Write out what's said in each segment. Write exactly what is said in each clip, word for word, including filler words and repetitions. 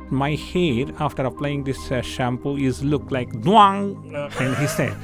my hair after applying this uh, shampoo is look like duang. Uh, and he said.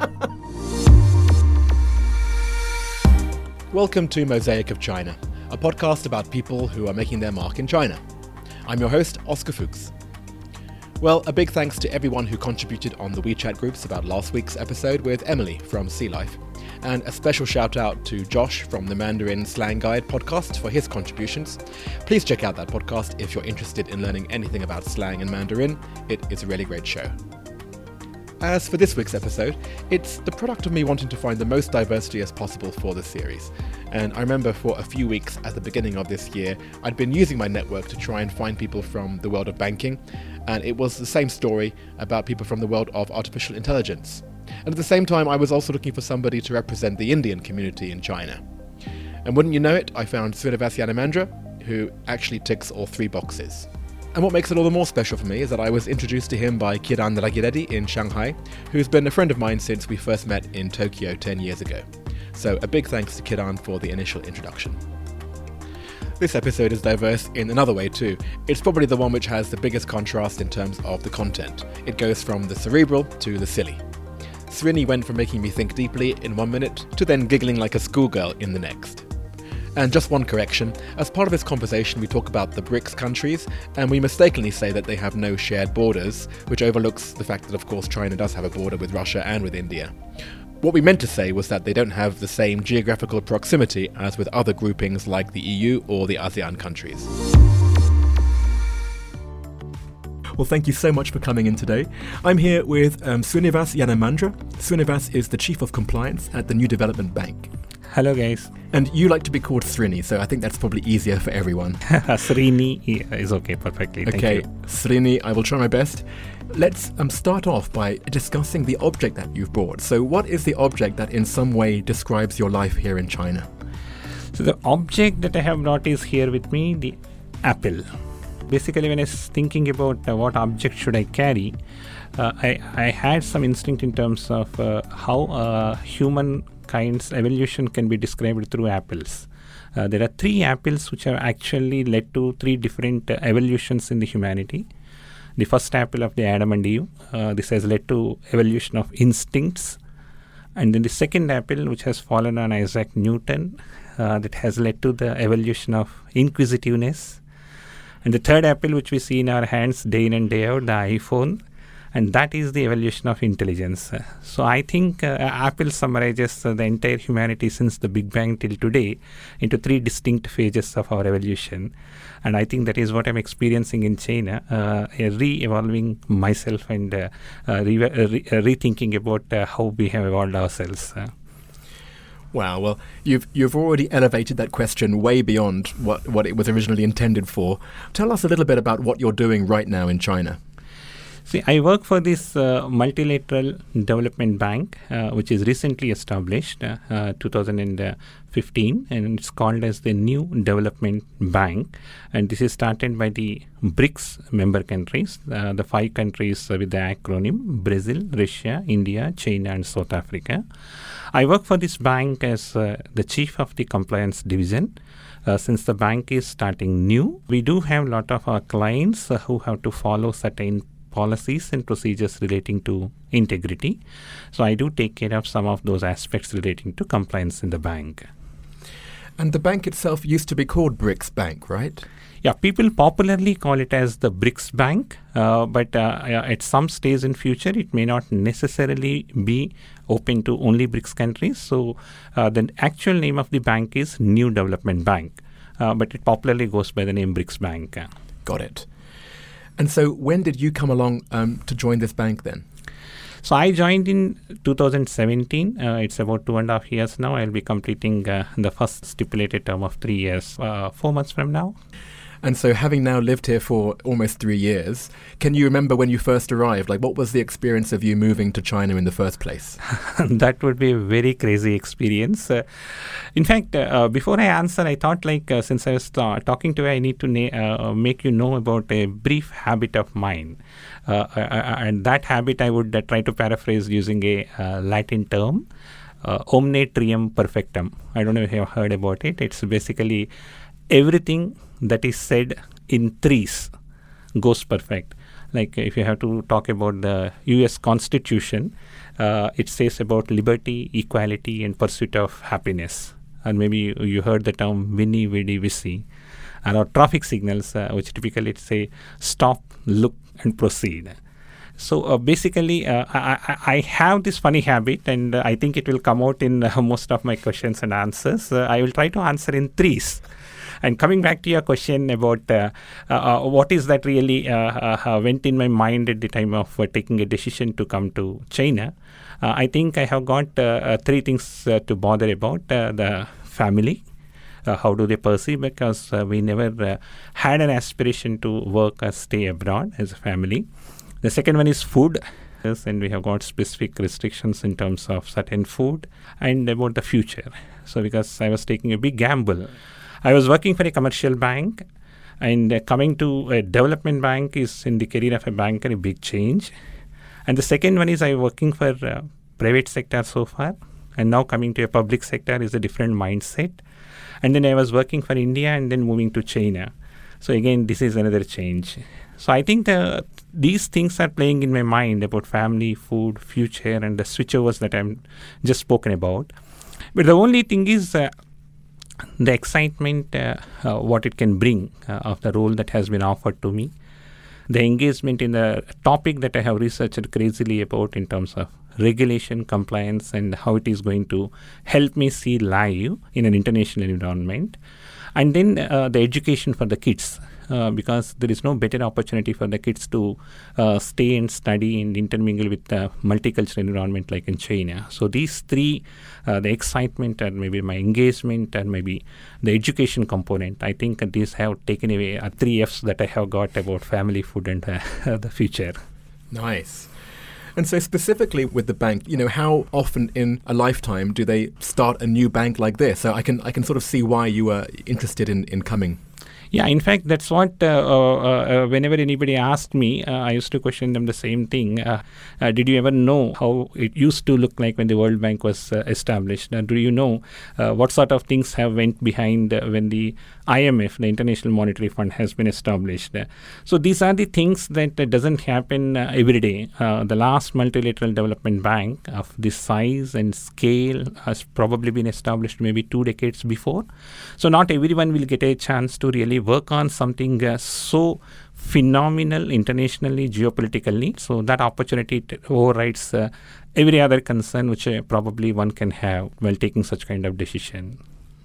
Welcome to Mosaic of China, a podcast about people who are making their mark in China. I'm your host, Oscar Fuchs. Well, a big thanks to everyone who contributed on the WeChat groups about last week's episode with Emily from Sea Life. And a special shout out to Josh from the Mandarin Slang Guide podcast for his contributions. Please check out that podcast if you're interested in learning anything about slang and Mandarin. It is a really great show. As for this week's episode, it's the product of me wanting to find the most diversity as possible for the series. And I remember for a few weeks at the beginning of this year, I'd been using my network to try and find people from the world of banking, and it was the same story about people from the world of artificial intelligence. And at the same time, I was also looking for somebody to represent the Indian community in China. And wouldn't you know it, I found Srinivas Yanamandra, who actually ticks all three boxes. And what makes it all the more special for me is that I was introduced to him by Kiran Ragireddy in Shanghai, who's been a friend of mine since we first met in Tokyo ten years ago. So a big thanks to Kiran for the initial introduction. This episode is diverse in another way too. It's probably the one which has the biggest contrast in terms of the content. It goes from the cerebral to the silly. Srini went from making me think deeply in one minute to then giggling like a schoolgirl in the next. And just one correction, as part of this conversation we talk about the BRICS countries, and we mistakenly say that they have no shared borders, which overlooks the fact that of course China does have a border with Russia and with India. What we meant to say was that they don't have the same geographical proximity as with other groupings like the E U or the ASEAN countries. Well, thank you so much for coming in today. I'm here with um, Srinivas Yanamandra. Srinivas is the Chief of Compliance at the New Development Bank. Hello guys. And you like to be called Srini, so I think that's probably easier for everyone. Srini is okay, perfectly. Thank okay, you. Srini, I will try my best. Let's um, start off by discussing the object that you've brought. So what is the object that in some way describes your life here in China? So the object that I have brought is here with me, the apple. Basically, when I was thinking about uh, what object should I carry, uh, I, I had some instinct in terms of uh, how uh, human kind's evolution can be described through apples. Uh, there are three apples which have actually led to three different uh, evolutions in the humanity. The first apple of the Adam and Eve, uh, this has led to evolution of instincts. And then the second apple, which has fallen on Isaac Newton, uh, that has led to the evolution of inquisitiveness. And the third apple, which we see in our hands day in and day out, the iPhone, and that is the evolution of intelligence. Uh, so I think uh, Apple summarizes uh, the entire humanity since the Big Bang till today into three distinct phases of our evolution. And I think that is what I'm experiencing in China, uh, re-evolving myself and uh, uh, re- uh, re- uh, rethinking about uh, how we have evolved ourselves. Uh. Wow, well, you've you've already elevated that question way beyond what, what it was originally intended for. Tell us a little bit about what you're doing right now in China. See, I work for this uh, multilateral development bank, uh, which is recently established, uh, uh, two thousand fifteen, and it's called as the New Development Bank. And this is started by the BRICS member countries, uh, the five countries uh, with the acronym Brazil, Russia, India, China, and South Africa. I work for this bank as uh, the chief of the compliance division. Uh, since the bank is starting new, we do have a lot of our clients uh, who have to follow certain policies and procedures relating to integrity. So I do take care of some of those aspects relating to compliance in the bank. And the bank itself used to be called BRICS Bank, right? Yeah, people popularly call it as the BRICS Bank, uh, but uh, at some stage in future, it may not necessarily be open to only BRICS countries. So uh, the actual name of the bank is New Development Bank, uh, but it popularly goes by the name BRICS Bank. Got it. And so when did you come along um, to join this bank then? So I joined in two thousand seventeen. Uh, it's about two and a half years now. I'll be completing uh, the first stipulated term of three years, uh, four months from now. And so having now lived here for almost three years, can you remember when you first arrived? Like, what was the experience of you moving to China in the first place? That would be a very crazy experience. Uh, in fact, uh, before I answer, I thought like, uh, since I was uh, talking to you, I need to na- uh, make you know about a brief habit of mine. Uh, uh, and that habit I would uh, try to paraphrase using a uh, Latin term, uh, omne trium perfectum. I don't know if you have heard about it. It's basically everything that is said in threes goes perfect. Like if you have to talk about the U S Constitution, uh, it says about liberty, equality, and pursuit of happiness. And maybe you, you heard the term Vini Vidi Vici. And our traffic signals, uh, which typically say stop, look, and proceed. So uh, basically, uh, I, I, I have this funny habit, and uh, I think it will come out in uh, most of my questions and answers. Uh, I will try to answer in threes. And coming back to your question about uh, uh, uh, what is that really uh, uh, went in my mind at the time of uh, taking a decision to come to China, uh, I think I have got uh, uh, three things uh, to bother about. Uh, the family. Uh, how do they perceive? Because uh, we never uh, had an aspiration to work or stay abroad as a family. The second one is food. Yes, and we have got specific restrictions in terms of certain food and about the future. So because I was taking a big gamble. I was working for a commercial bank, and uh, coming to a development bank is in the career of a banker a big change. And the second one is I working for uh, private sector so far, and now coming to a public sector is a different mindset. And then I was working for India and then moving to China. So again, this is another change. So I think the, these things are playing in my mind about family, food, future, and the switchovers that I'm just spoken about. But the only thing is uh, the excitement, uh, uh, what it can bring uh, of the role that has been offered to me. The engagement in the topic that I have researched crazily about in terms of regulation, compliance, and how it is going to help me see live in an international environment. And then uh, the education for the kids, uh, because there is no better opportunity for the kids to uh, stay and study and intermingle with the multicultural environment like in China. So these three, uh, the excitement and maybe my engagement and maybe the education component, I think these have taken away uh, three Fs that I have got about family, food, and uh, the future. Nice. And so specifically with the bank, you know, how often in a lifetime do they start a new bank like this? So I can I can sort of see why you were interested in, in coming. Yeah, in fact, that's what uh, uh, uh, whenever anybody asked me, uh, I used to question them the same thing. Uh, uh, did you ever know how it used to look like when the World Bank was uh, established? Uh, do you know uh, what sort of things have went behind uh, when the I M F, the International Monetary Fund, has been established? Uh, so these are the things that uh, doesn't happen uh, every day. Uh, the last multilateral development bank of this size and scale has probably been established maybe two decades before. So not everyone will get a chance to really work on something uh, so phenomenal internationally, geopolitically. So that opportunity t- overrides uh, every other concern which uh, probably one can have while taking such kind of decision.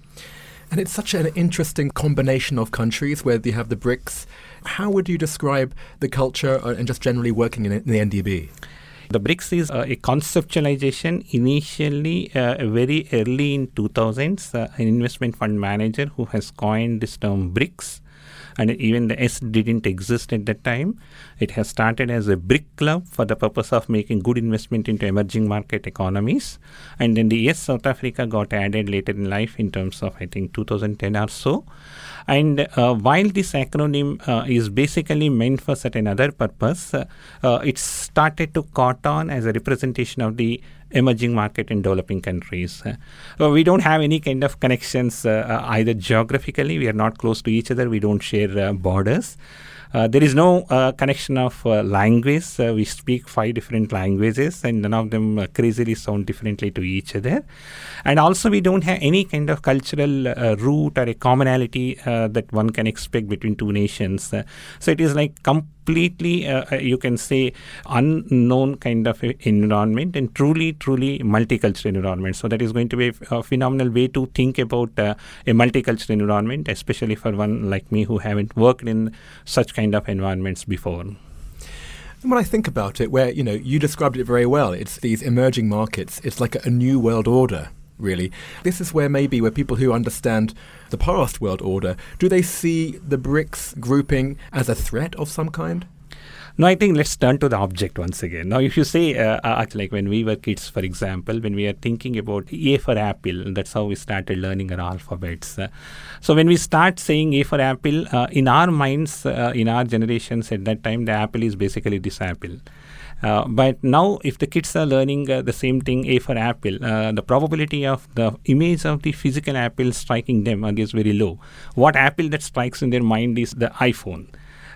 And it's such an interesting combination of countries where you have the BRICS. How would you describe the culture uh, and just generally working in, in the N D B? The BRICS is uh, a conceptualization initially uh, very early in two thousands. Uh, an investment fund manager who has coined this term BRICS, and even the S didn't exist at that time. It has started as a BRIC club for the purpose of making good investment into emerging market economies. And then the S South Africa got added later in life in terms of, I think, two thousand ten or so. And uh, while this acronym uh, is basically meant for certain other purpose, uh, uh, it started to caught on as a representation of the emerging market in developing countries. Uh, we don't have any kind of connections uh, uh, either geographically. We are not close to each other. We don't share uh, borders. Uh, there is no uh, connection of uh, language. Uh, we speak five different languages, and none of them uh, crazily sound differently to each other. And also, we don't have any kind of cultural uh, root or a commonality uh, that one can expect between two nations. Uh, so it is like completely, uh, you can say, unknown kind of environment, and truly, truly multicultural environment. So that is going to be a, a phenomenal way to think about uh, a multicultural environment, especially for one like me who haven't worked in such kind of environments before. And when I think about it, where, you know, you described it very well, it's these emerging markets, it's like a, a new world order, really. This is where maybe where people who understand the past world order, do they see the BRICS grouping as a threat of some kind? No, I think let's turn to the object once again. Now, if you say, uh, uh, like when we were kids, for example, when we are thinking about A for apple, that's how we started learning our alphabets. Uh, so when we start saying A for apple, uh, in our minds, uh, in our generations at that time, the apple is basically this apple. Uh, but now, if the kids are learning uh, the same thing, A for apple, uh, the probability of the image of the physical apple striking them is very low. What apple that strikes in their mind is the iPhone.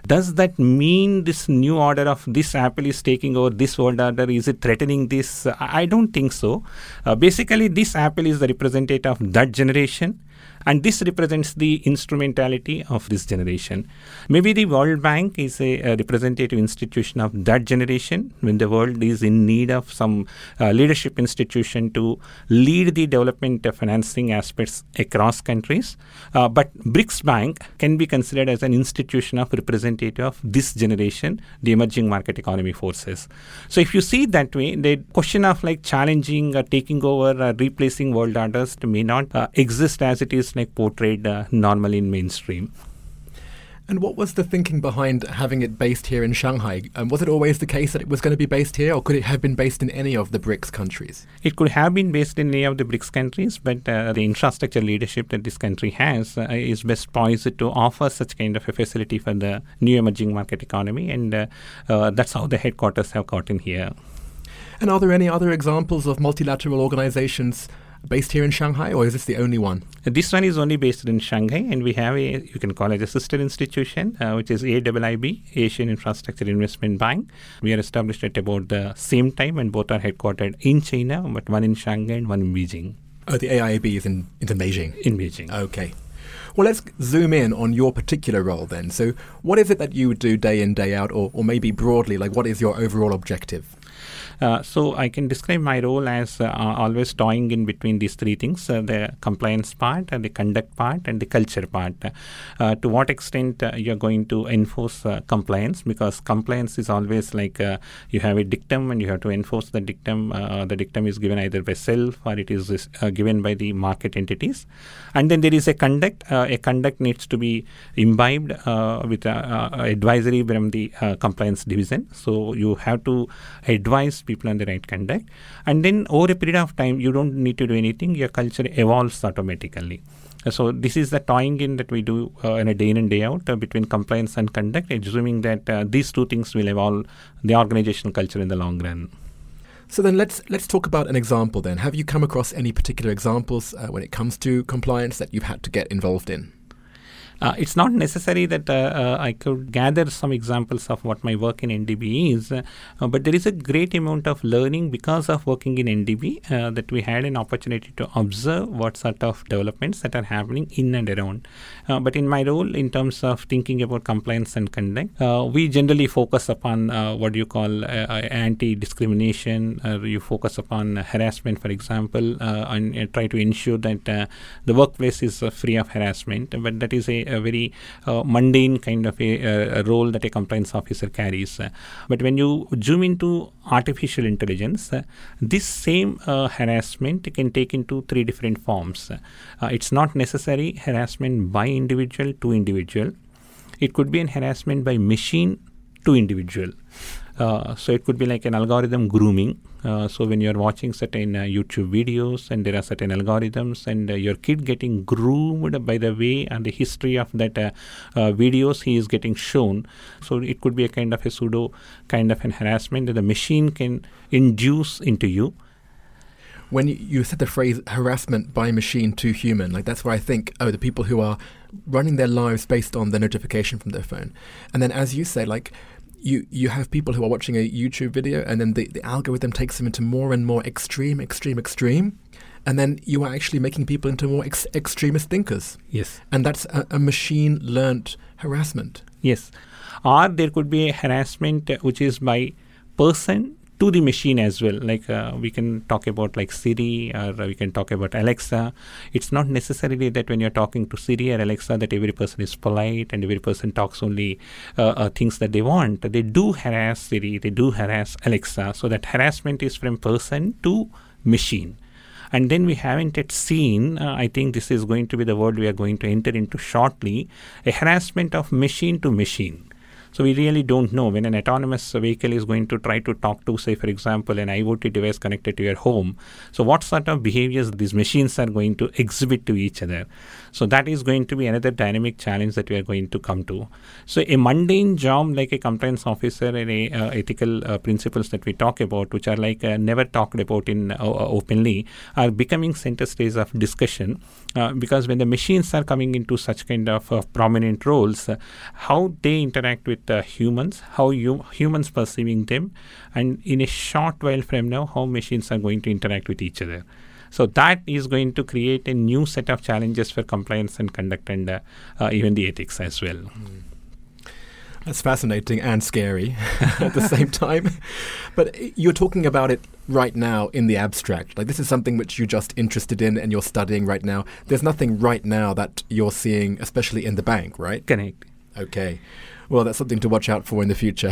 Does that mean this new order of this Apple is taking over this world order? Is it threatening this? I don't think so. Uh, basically, this Apple is the representative of that generation. And this represents the instrumentality of this generation. Maybe the World Bank is a, a representative institution of that generation when the world is in need of some uh, leadership institution to lead the development of financing aspects across countries. Uh, but BRICS Bank can be considered as an institution of representative of this generation, the emerging market economy forces. So if you see it that way, the question of like challenging or taking over or replacing world orders may not uh, exist as it is like portrayed uh, normally in mainstream. And what was the thinking behind having it based here in Shanghai? Um, was it always the case that it was going to be based here, or could it have been based in any of the BRICS countries? It could have been based in any of the BRICS countries, but uh, the infrastructure leadership that this country has uh, is best poised to offer such kind of a facility for the new emerging market economy, and uh, uh, that's how the headquarters have gotten here. And are there any other examples of multilateral organizations based here in Shanghai, or is this the only one? This one is only based in Shanghai, and we have a, you can call it a sister institution, uh, which is A I I B, Asian Infrastructure Investment Bank. We are established at about the same time, and both are headquartered in China, but one in Shanghai and one in Beijing. Oh, the A I I B is in, is in Beijing? In Beijing. Okay. Well, let's zoom in on your particular role then. So what is it that you do day in, day out, or, or maybe broadly, like what is your overall objective? Uh, so I can describe my role as uh, always toying in between these three things, uh, the compliance part, uh, the conduct part, and the culture part. Uh, to what extent uh, you're going to enforce uh, compliance, because compliance is always like uh, you have a dictum and you have to enforce the dictum. Uh, the dictum is given either by self or it is uh, given by the market entities. And then there is a conduct. Uh, a conduct needs to be imbibed uh, with uh, uh, advisory from the uh, compliance division. So you have to advise people on the right conduct, and then over a period of time you don't need to do anything, your culture evolves automatically. Uh, so this is the toying in that we do uh, in a day in and day out uh, between compliance and conduct, assuming that uh, these two things will evolve the organizational culture in the long run. So then let's let's talk about an example then. Have you come across any particular examples uh, when it comes to compliance that you've had to get involved in? Uh, it's not necessary that uh, uh, I could gather some examples of what my work in N D B is, uh, but there is a great amount of learning because of working in N D B uh, that we had an opportunity to observe what sort of developments that are happening in and around. Uh, but in my role, in terms of thinking about compliance and conduct, uh, we generally focus upon uh, what you call uh, anti-discrimination. Uh, you focus upon harassment, for example, uh, and uh, try to ensure that uh, the workplace is uh, free of harassment. But that is a a very uh, mundane kind of a, a role that a compliance officer carries. Uh, but when you zoom into artificial intelligence, uh, this same uh, harassment can take into three different forms. Uh, it's not necessary harassment by individual to individual. It could be an harassment by machine to individual. Uh, so it could be like an algorithm grooming. Uh, so when you're watching certain uh, YouTube videos and there are certain algorithms and uh, your kid getting groomed by the way and the history of that uh, uh, videos he is getting shown. So it could be a kind of a pseudo kind of an harassment that the machine can induce into you. When you, you said the phrase harassment by machine to human, like that's where I think, oh, the people who are running their lives based on the notification from their phone. And then as you say, like, You you have people who are watching a YouTube video and then the, the algorithm takes them into more and more extreme, extreme, extreme. And then you are actually making people into more ex- extremist thinkers. Yes. And that's a, a machine-learned harassment. Yes. Or there could be a harassment uh, which is by person to the machine as well. Like uh, we can talk about like Siri, or uh, we can talk about Alexa. It's not necessarily that when you're talking to Siri or Alexa that every person is polite and every person talks only uh, uh, things that they want. They do harass Siri, they do harass Alexa. So that harassment is from person to machine. And then we haven't yet seen, uh, I think this is going to be the word we are going to enter into shortly, a harassment of machine to machine. So we really don't know when an autonomous vehicle is going to try to talk to, say, for example, an IoT device connected to your home. So what sort of behaviors these machines are going to exhibit to each other. So that is going to be another dynamic challenge that we are going to come to. So a mundane job like a compliance officer and a uh, ethical uh, principles that we talk about, which are like uh, never talked about in uh, openly, are becoming center stage of discussion uh, because when the machines are coming into such kind of uh, prominent roles, uh, how they interact with uh, humans, how you, humans perceiving them, and in a short while from now, how machines are going to interact with each other. So that is going to create a new set of challenges for compliance and conduct and uh, uh, even the ethics as well. Mm. That's fascinating and scary at the same time. But you're talking about it right now in the abstract. Like this is something which you're just interested in and you're studying right now. There's nothing right now that you're seeing, especially in the bank, right? Correct. Okay. Well, that's something to watch out for in the future.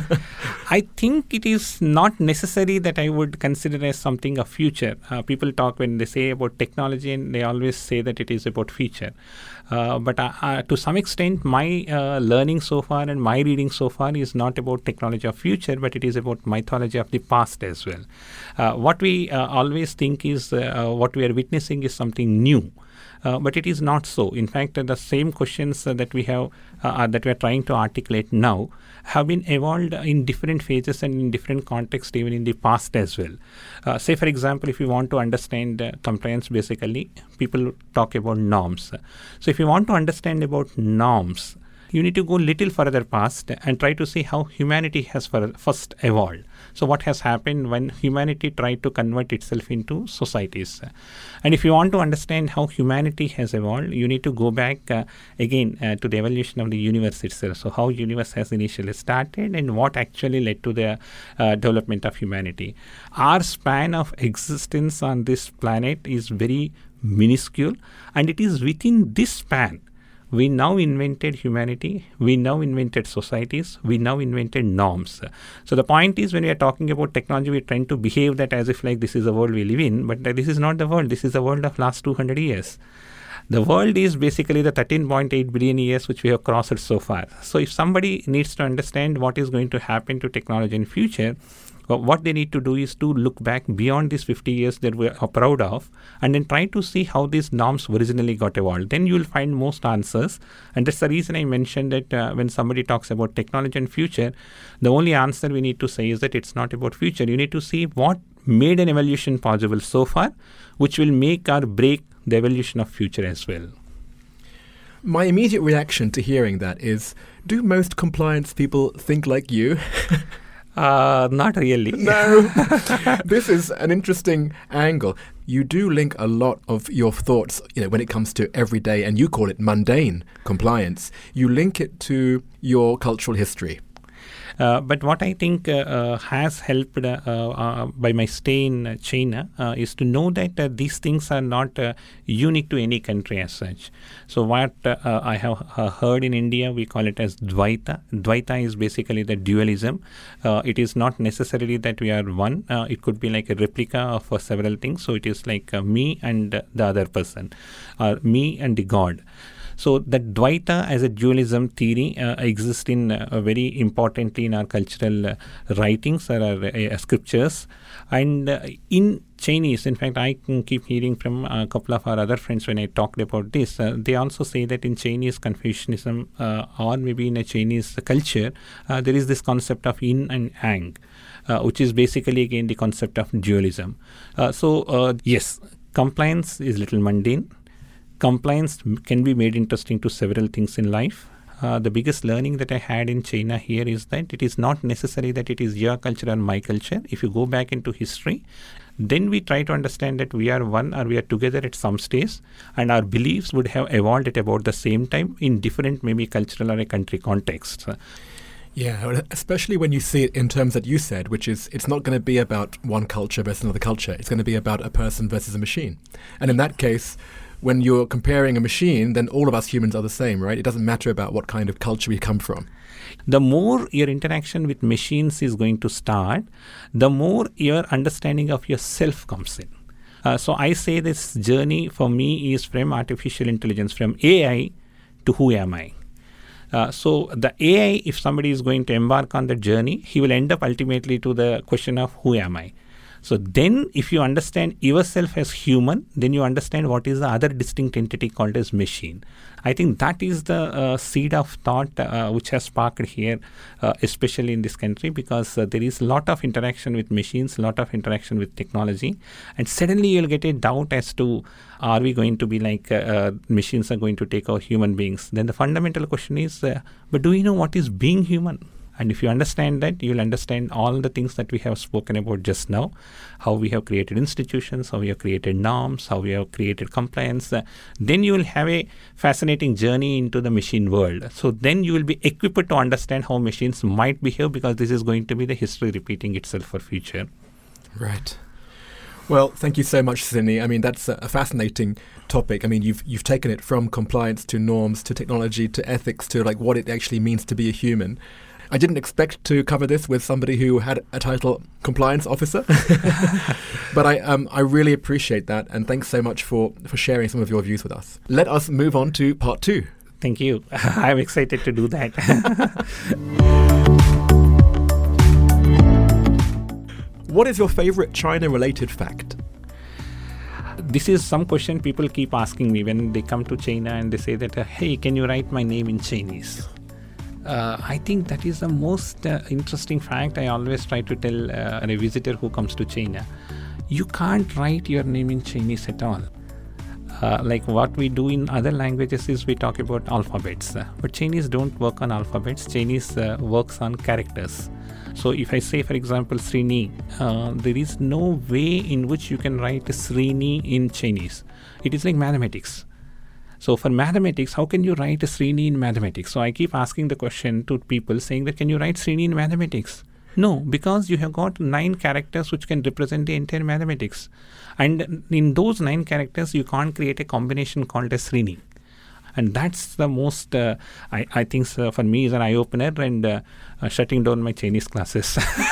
I think it is not necessary that I would consider as something of future. Uh, people talk when they say about technology and they always say that it is about future. Uh, but uh, uh, to some extent, my uh, learning so far and my reading so far is not about technology of future, but it is about mythology of the past as well. Uh, what we uh, always think is uh, what we are witnessing is something new. Uh, but it is not so. In fact, uh, the same questions uh, that we have uh, that we are trying to articulate now have been evolved in different phases and in different contexts even in the past as well. Uh, say, for example, if you want to understand uh, compliance, basically, people talk about norms. So if you want to understand about norms, you need to go little further past and try to see how humanity has first evolved. So what has happened when humanity tried to convert itself into societies. And if you want to understand how humanity has evolved, you need to go back uh, again uh, to the evolution of the universe itself. So how universe has initially started and what actually led to the uh, development of humanity. Our span of existence on this planet is very minuscule, and it is within this span we now invented humanity, we now invented societies, we now invented norms. So the point is when we are talking about technology, we tend to behave that as if like this is the world we live in, but this is not the world, this is the world of last two hundred years. The world is basically the thirteen point eight billion years which we have crossed so far. So if somebody needs to understand what is going to happen to technology in future, well, what they need to do is to look back beyond these fifty years that we are proud of and then try to see how these norms originally got evolved. Then you will find most answers. And that's the reason I mentioned that uh, when somebody talks about technology and future, the only answer we need to say is that it's not about future. You need to see what made an evolution possible so far, which will make or break the evolution of future as well. My immediate reaction to hearing that is, do most compliance people think like you? Uh, not really. No. This is an interesting angle. You do link a lot of your thoughts, you know, when it comes to everyday, and you call it mundane compliance, you link it to your cultural history. Uh, but what I think uh, uh, has helped uh, uh, by my stay in China uh, is to know that uh, these things are not uh, unique to any country as such. So what uh, uh, I have uh, heard in India, we call it as Dvaita. Dvaita is basically the dualism. Uh, it is not necessarily that we are one. Uh, it could be like a replica of uh, several things. So it is like uh, me and uh, the other person, or me and the God. So that Dvaita as a dualism theory uh, exists in uh, very importantly in our cultural uh, writings or our uh, scriptures. And uh, in Chinese, in fact, I can keep hearing from a couple of our other friends when I talked about this. Uh, they also say that in Chinese Confucianism uh, or maybe in a Chinese culture, uh, there is this concept of yin and yang, uh, which is basically again the concept of dualism. Uh, so uh, yes, compliance is little mundane. Compliance can be made interesting to several things in life. Uh, the biggest learning that I had in China here is that it is not necessary that it is your culture or my culture. If you go back into history, then we try to understand that we are one or we are together at some stage, and our beliefs would have evolved at about the same time in different maybe cultural or a country contexts. Yeah, especially when you see it in terms that you said, which is it's not going to be about one culture versus another culture. It's going to be about a person versus a machine. And in that case, when you're comparing a machine, then all of us humans are the same, right? It doesn't matter about what kind of culture we come from. The more your interaction with machines is going to start, the more your understanding of yourself comes in. Uh, so I say this journey for me is from artificial intelligence, from A I to who am I. Uh, so the A I, if somebody is going to embark on the journey, he will end up ultimately to the question of who am I? So then if you understand yourself as human, then you understand what is the other distinct entity called as machine. I think that is the uh, seed of thought uh, which has sparked here, uh, especially in this country, because uh, there is a lot of interaction with machines, a lot of interaction with technology, and suddenly you'll get a doubt as to, are we going to be like uh, uh, machines are going to take over human beings? Then the fundamental question is, uh, but do we know what is being human? And if you understand that, you'll understand all the things that we have spoken about just now, how we have created institutions, how we have created norms, how we have created compliance. Uh, then you will have a fascinating journey into the machine world. So then you will be equipped to understand how machines might behave, because this is going to be the history repeating itself for future. Right. Well, thank you so much, Srini. I mean, that's a, a fascinating topic. I mean, you've you've taken it from compliance to norms to technology to ethics to like what it actually means to be a human. I didn't expect to cover this with somebody who had a title compliance officer, but I um, I really appreciate that, and thanks so much for, for sharing some of your views with us. Let us move on to part two. Thank you. I'm excited to do that. What is your favorite China-related fact? This is some question people keep asking me when they come to China and they say that, uh, hey, can you write my name in Chinese? Uh, I think that is the most uh, interesting fact I always try to tell uh, a visitor who comes to China. You can't write your name in Chinese at all. Uh, like what we do in other languages is we talk about alphabets. Uh, but Chinese don't work on alphabets. Chinese uh, works on characters. So if I say, for example, Srini, uh, there is no way in which you can write Srini in Chinese. It is like mathematics. So for mathematics, how can you write Srini in mathematics? So I keep asking the question to people saying that, can you write Srini in mathematics? No, because you have got nine characters which can represent the entire mathematics. And in those nine characters, you can't create a combination called as Srini. And that's the most, uh, I, I think so for me is an eye-opener and uh, uh, shutting down my Chinese classes.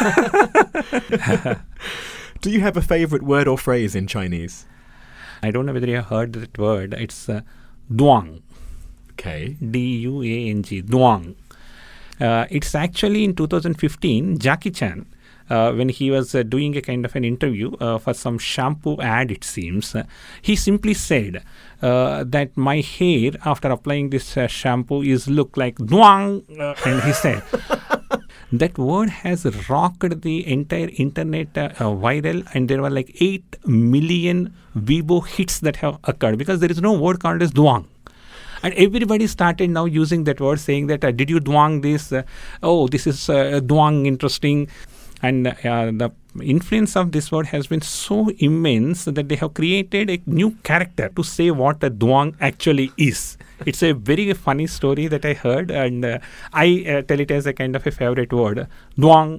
Do you have a favorite word or phrase in Chinese? I don't know whether you have heard that word. It's uh, duang. Okay. D U A N G, duang. Uh, it's actually in two thousand fifteen, Jackie Chan, uh, when he was uh, doing a kind of an interview uh, for some shampoo ad, it seems, uh, he simply said uh, that my hair after applying this uh, shampoo is look like duang. Uh, and he said, that word has rocked the entire internet uh, uh, viral, and there were like eight million Weibo hits that have occurred because there is no word called as duang. And everybody started now using that word, saying that, uh, did you duang this? Uh, oh, this is uh, duang interesting. And uh, the influence of this word has been so immense that they have created a new character to say what a duang actually is. It's a very funny story that I heard, and uh, I uh, tell it as a kind of a favorite word, duang.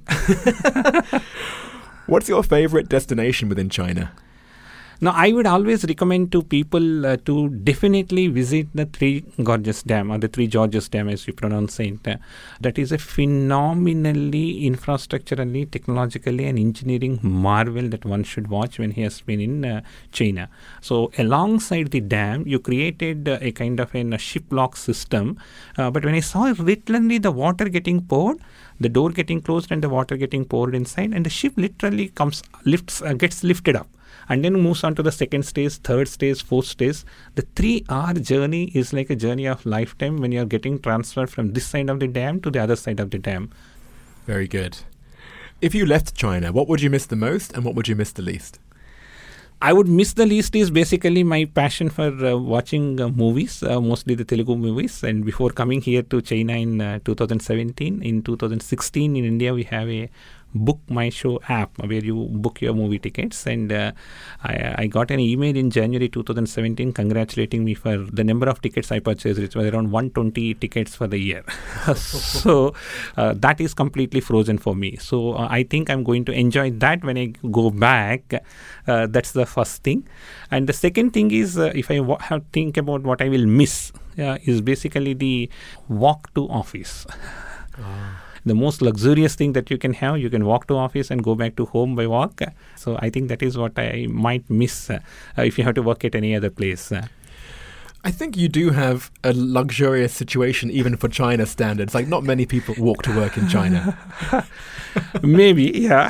What's your favorite destination within China? Now, I would always recommend to people uh, to definitely visit the Three Gorges Dam, or the Three Georges Dam as you pronounce it. Uh, that is a phenomenally infrastructurally, technologically and engineering marvel that one should watch when he has been in uh, China. So alongside the dam, you created uh, a kind of a, a ship lock system. Uh, but when I saw literally the water getting poured, the door getting closed and the water getting poured inside, and the ship literally comes, lifts, uh, gets lifted up. And then moves on to the second stage, third stage, fourth stage. The three-hour journey is like a journey of lifetime when you are getting transferred from this side of the dam to the other side of the dam. Very good. If you left China, what would you miss the most and what would you miss the least? I would miss the least is basically my passion for uh, watching uh, movies, uh, mostly the Telugu movies. And before coming here to China in uh, two thousand seventeen, in two thousand sixteen in India, we have a Book My Show app where you book your movie tickets, and uh, I, I got an email in January two thousand seventeen congratulating me for the number of tickets I purchased. It was around one hundred twenty tickets for the year. So uh, that is completely frozen for me. So uh, I think I'm going to enjoy that when I go back. Uh, that's the first thing. And the second thing is, uh, if I wa- have think about what I will miss, uh, is basically the walk to office. Oh. The most luxurious thing that you can have, you can walk to office and go back to home by walk. So I think that is what I might miss uh, if you have to work at any other place. I think you do have a luxurious situation even for China standards. Like, not many people walk to work in China. Maybe, yeah.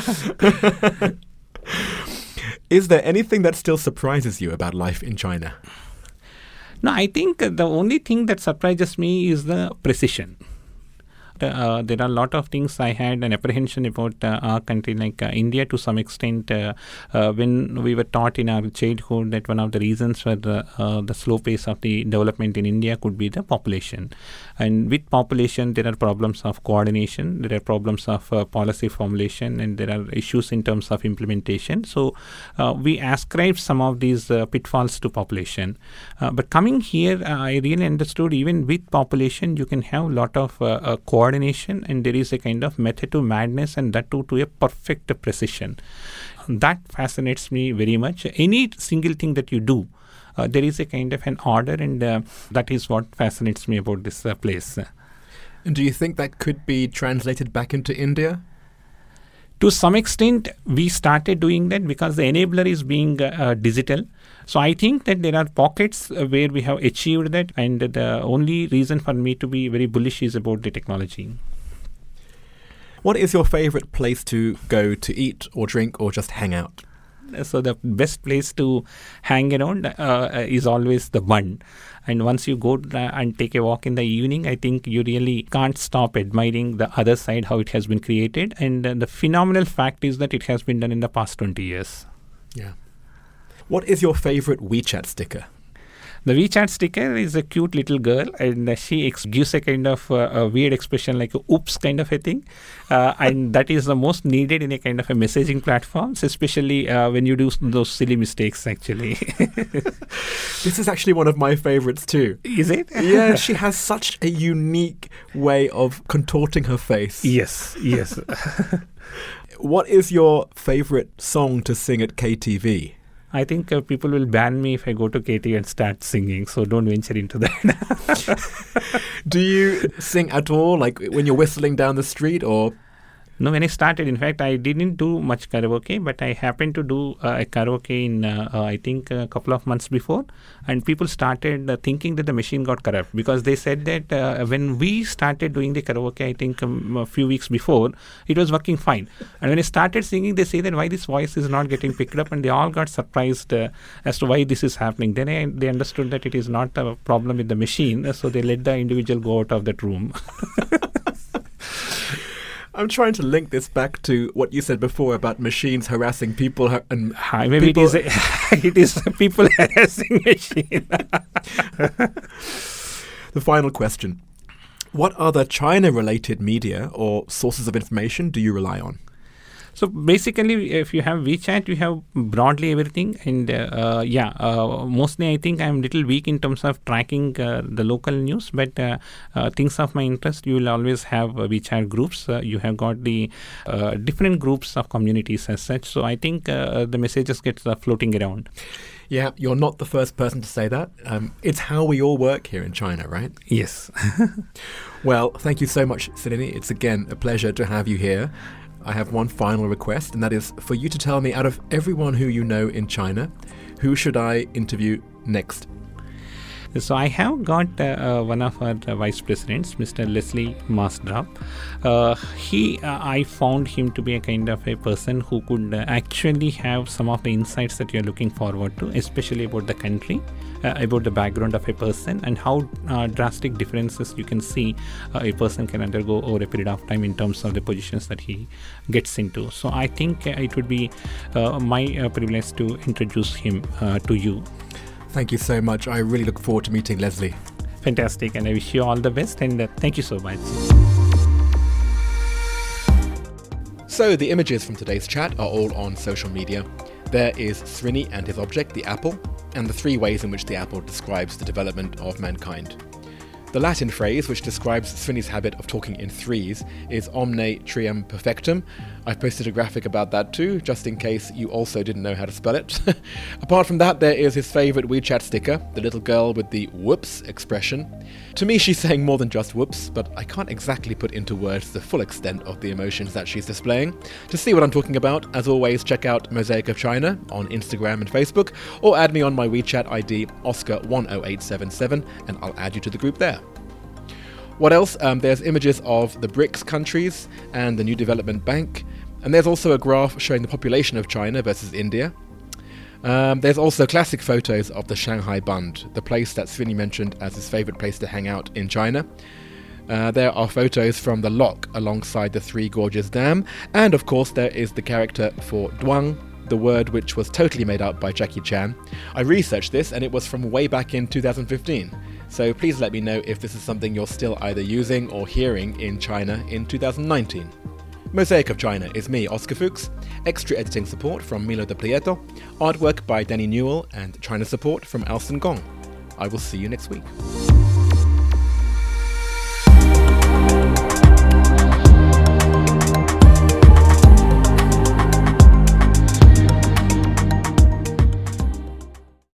Is there anything that still surprises you about life in China? No, I think the only thing that surprises me is the precision. Uh, there are a lot of things I had an apprehension about uh, our country, like uh, India to some extent. Uh, uh, when we were taught in our childhood that one of the reasons for the, uh, the slow pace of the development in India could be the population. And with population, there are problems of coordination, there are problems of uh, policy formulation, and there are issues in terms of implementation. So uh, we ascribe some of these uh, pitfalls to population. Uh, but coming here, uh, I really understood even with population, you can have a lot of uh, uh, coordination. Coordination, and there is a kind of method to madness, and that too to a perfect precision. That fascinates me very much. Any single thing that you do, uh, there is a kind of an order, and uh, that is what fascinates me about this uh, place. And do you think that could be translated back into India? To some extent, we started doing that because the enabler is being uh, uh, digital. So I think that there are pockets uh, where we have achieved that, and the only reason for me to be very bullish is about the technology. What is your favorite place to go to eat or drink or just hang out? So the best place to hang around uh, is always the Bund. And once you go uh, and take a walk in the evening, I think you really can't stop admiring the other side, how it has been created. And uh, the phenomenal fact is that it has been done in the past twenty years. Yeah. What is your favorite WeChat sticker? The WeChat sticker is a cute little girl, and uh, she ex- gives a kind of uh, a weird expression like a oops kind of a thing. Uh, and that is the most needed in a kind of a messaging platforms, especially uh, when you do those silly mistakes, actually. This is actually one of my favorites too. Is it? Yeah, she has such a unique way of contorting her face. Yes, yes. What is your favorite song to sing at K T V? I think uh, people will ban me if I go to K T V and start singing, so don't venture into that. Do you sing at all, like when you're whistling down the street, or? No, when I started, in fact, I didn't do much karaoke, but I happened to do uh, a karaoke in, uh, uh, I think, a couple of months before. And people started uh, thinking that the machine got corrupt, because they said that uh, when we started doing the karaoke, I think um, a few weeks before, it was working fine. And when I started singing, they say that why this voice is not getting picked up, and they all got surprised uh, as to why this is happening. Then I, they understood that it is not a problem with the machine, so they let the individual go out of that room. I'm trying to link this back to what you said before about machines harassing people. Har- and Hi, maybe people it is a, it is a people harassing machine. The final question. What other China-related media or sources of information do you rely on? So basically, if you have WeChat, you have broadly everything. And uh, uh, yeah, uh, mostly I think I'm a little weak in terms of tracking uh, the local news. But uh, uh, things of my interest, you will always have uh, WeChat groups. Uh, you have got the uh, different groups of communities as such. So I think uh, the messages get uh, floating around. Yeah, you're not the first person to say that. Um, it's how we all work here in China, right? Yes. Well, thank you so much, Srinivas. It's again a pleasure to have you here. I have one final request, and that is for you to tell me, out of everyone who you know in China, who should I interview next? So I have got uh, uh, one of our uh, vice presidents, Mister Leslie Maasdorp. Uh, he, uh, I found him to be a kind of a person who could uh, actually have some of the insights that you're looking forward to, especially about the country, uh, about the background of a person, and how uh, drastic differences you can see uh, a person can undergo over a period of time in terms of the positions that he gets into. So I think uh, it would be uh, my uh, privilege to introduce him uh, to you. Thank you so much. I really look forward to meeting Leslie. Fantastic, and I wish you all the best, and uh, thank you so much. So the images from today's chat are all on social media. There is Srini and his object, the apple, and the three ways in which the apple describes the development of mankind. The Latin phrase, which describes Srini's habit of talking in threes, is omne trium perfectum. I've posted a graphic about that too, just in case you also didn't know how to spell it. Apart from that, there is his favourite WeChat sticker, the little girl with the whoops expression. To me, she's saying more than just whoops, but I can't exactly put into words the full extent of the emotions that she's displaying. To see what I'm talking about, as always, check out Mosaic of China on Instagram and Facebook, or add me on my WeChat I D, Oscar one oh eight seven seven, and I'll add you to the group there. What else? Um, there's images of the BRICS countries and the New Development Bank, and there's also a graph showing the population of China versus India. Um, there's also classic photos of the Shanghai Bund, the place that Srini mentioned as his favourite place to hang out in China. Uh, there are photos from the lock alongside the Three Gorges Dam, and of course there is the character for Duang, the word which was totally made up by Jackie Chan. I researched this and it was from way back in two thousand fifteen. So please let me know if this is something you're still either using or hearing in China in two thousand nineteen. Mosaic of China is me, Oscar Fuchs, extra editing support from Milo de Prieto, artwork by Danny Newell, and China support from Alston Gong. I will see you next week.